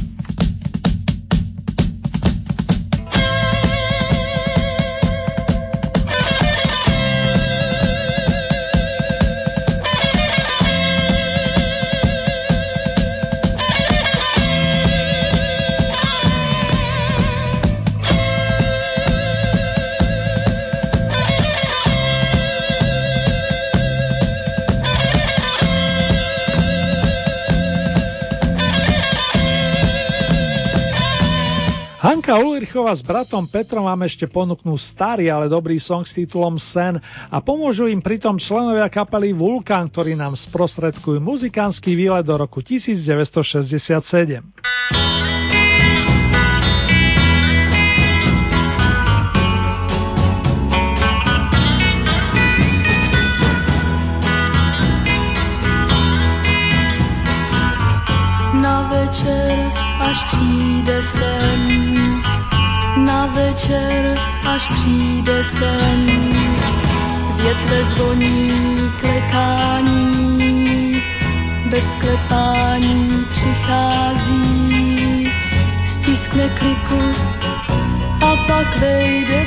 Hanka Ulrichová s bratom Petrom vám ešte ponúknú starý, ale dobrý song s titulom Sen a pomôžu im pritom členovia kapely Vulkán, ktorí nám sprostredkujú muzikánsky výlet do roku 1967. Na večer, až přijde sen, na večer, až přijde sen, větve zvoní klekání, bez klepání přichází, stiskne kliku a pak vejde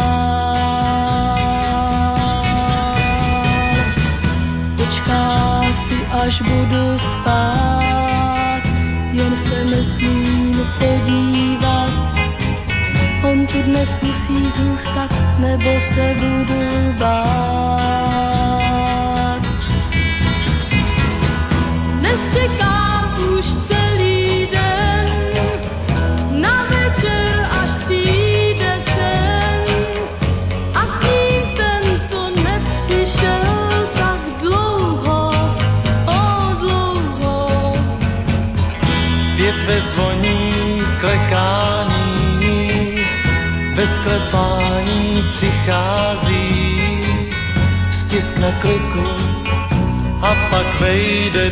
dál. Počká si, až budu spát, jen se nesmím podívat. On tu dnes musí zůstat, nebo se budu bát. Dnes čekám už celý den, na večer, až přijde sen. A s ním ten, co nepřišel tak dlouho, dlouho. Větve zvoní klekání, bez klepání přichází, stiskne kliku a pak vejde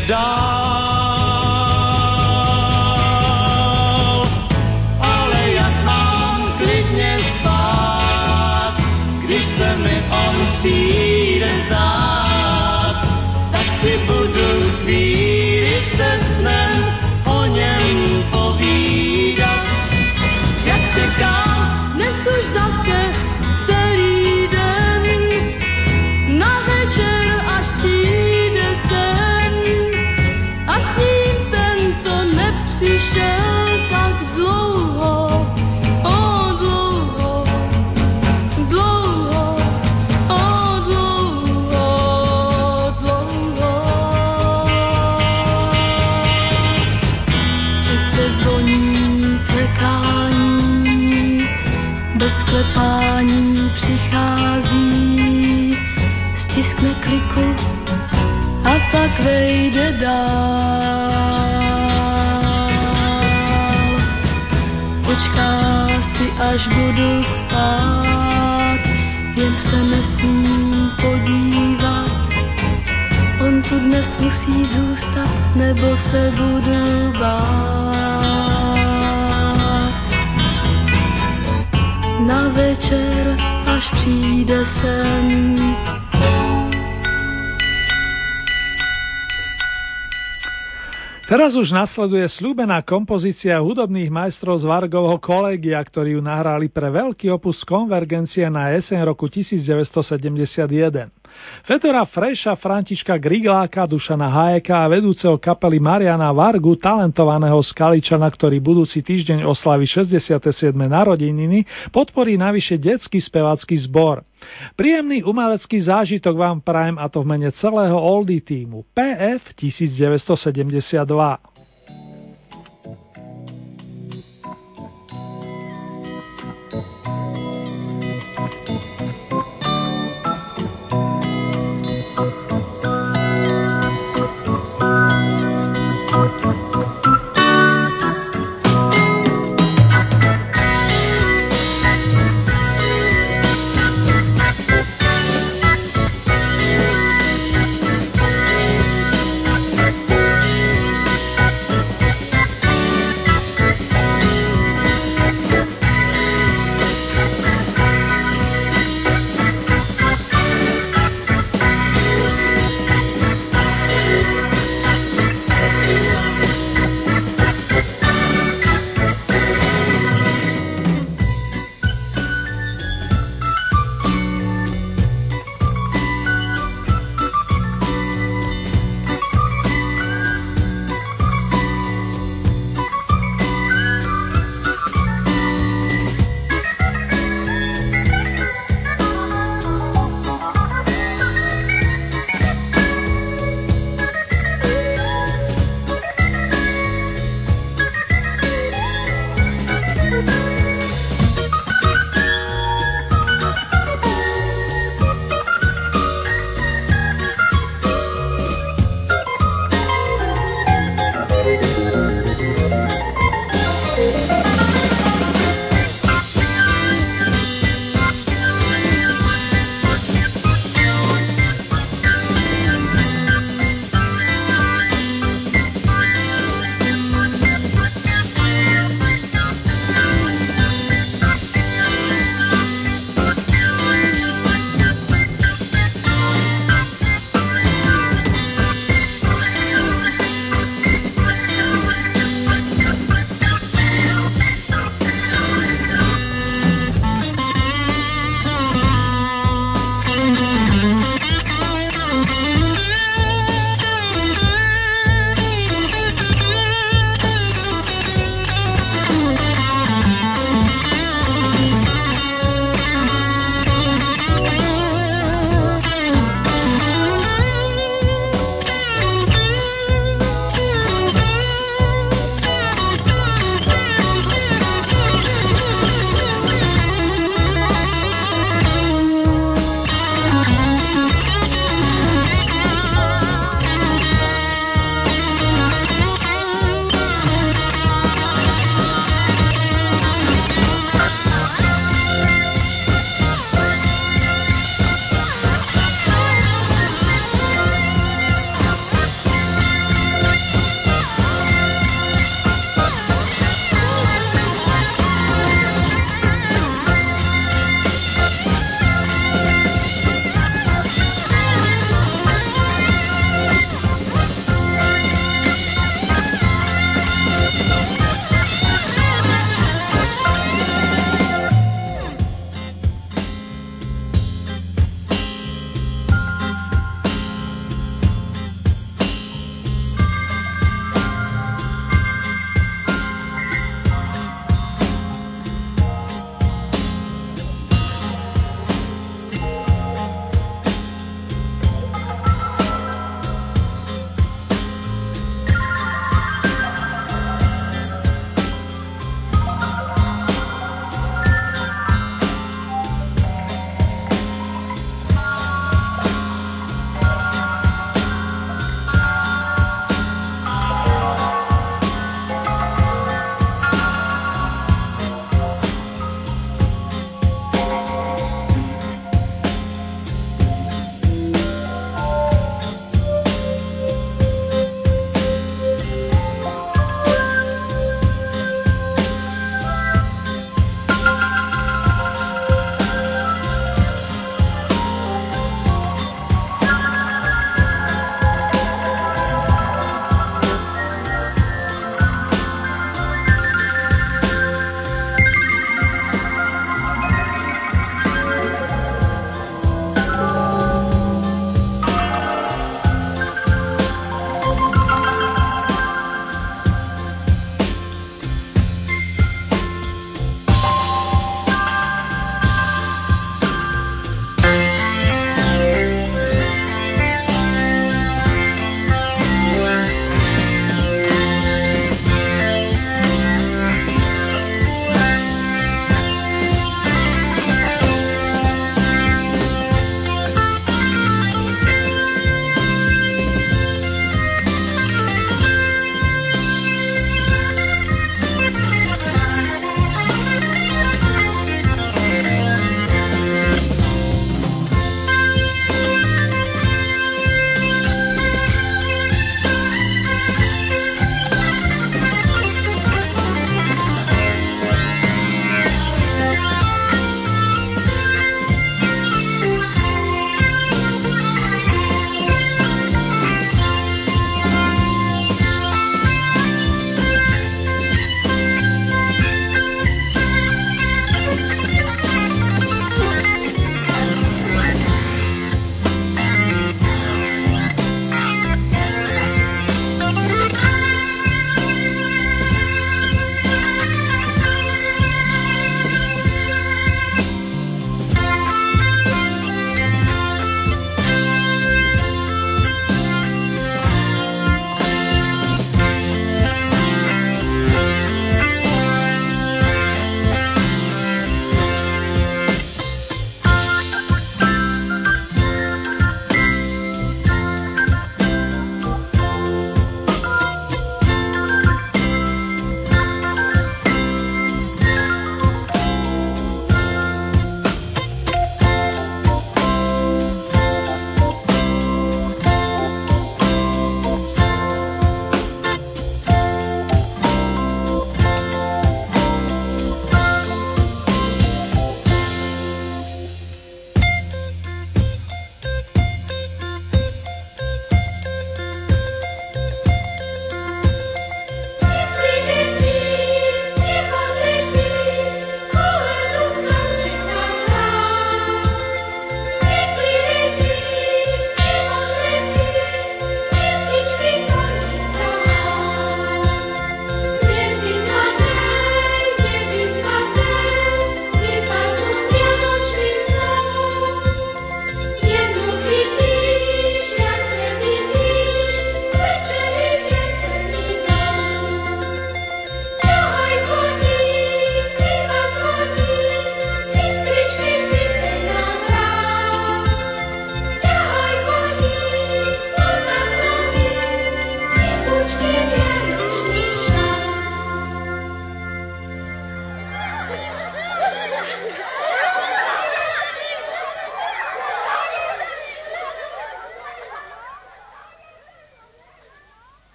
dál. Ale jak mám klidně spát, když se mi on přijde zdát, tak si budu chvíli se snem o něm povídat. Jak čekám dnes už zase celý den, na večer, až přijde sen. A s ním sklepání přichází, stiskne kliku a pak vejde dál. Počká si, až budu spát, jen se nesmím podívat. On tu dnes musí zůstat, nebo se budu bát. Na večer, až přijde sem, Teraz už nasleduje sľúbená kompozícia hudobných majstrov z Vargovho kolégia, ktorí ju nahrali pre veľký opus Konvergencia na jeseň roku 1971. Fedora Freša, Františka Grigláka, Dušana Hájeka a vedúceho kapely Mariana Vargu, talentovaného Skaličana, ktorý budúci týždeň oslaví 67. narodeniny, podporí navyše detský spevácky zbor. Príjemný umelecký zážitok vám prajem, a to v mene celého Oldie tímu PF 1972.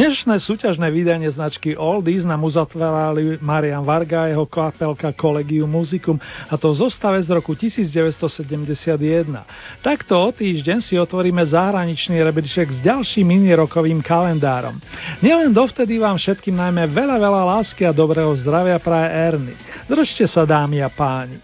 Dnešné súťažné vydanie značky Oldies nám uzatvárali Marian Varga a jeho kapelka Collegium Musicum, a to v zostave z roku 1971. Takto o týždeň si otvoríme zahraničný rebríček s ďalším minirokovým kalendárom. Nielen dovtedy vám všetkým najmä veľa lásky a dobrého zdravia praje Ernie. Držte sa, dámy a páni.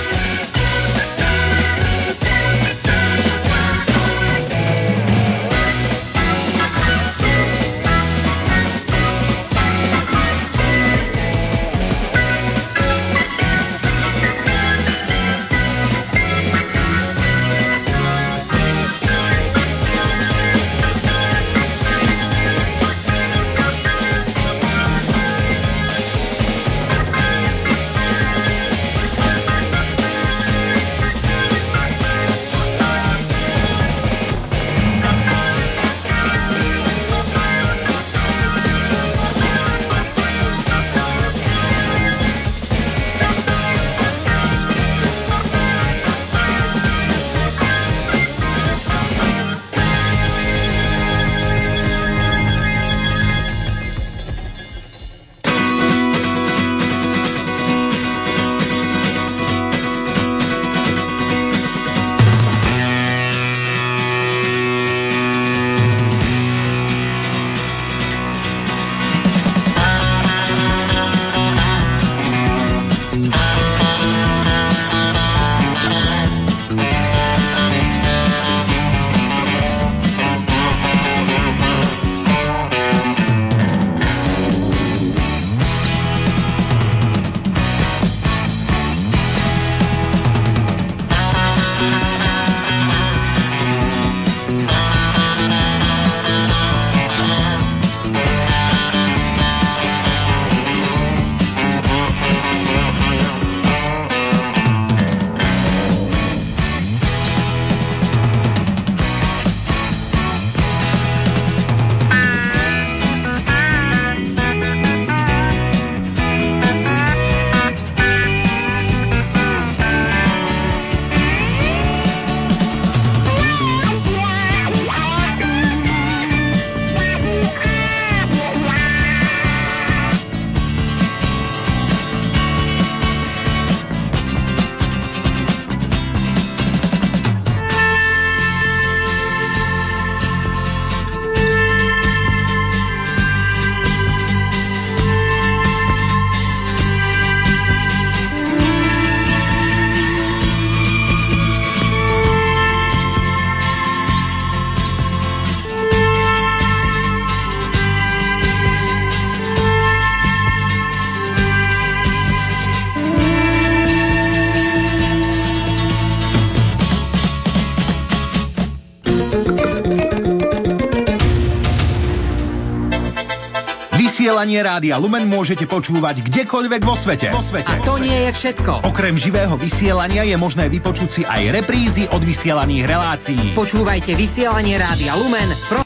Vysielanie Rádia Lumen môžete počúvať kdekoľvek vo svete. A to nie je všetko. Okrem živého vysielania je možné vypočuť si aj reprízy od vysielaných relácií. Počúvajte vysielanie Rádia Lumen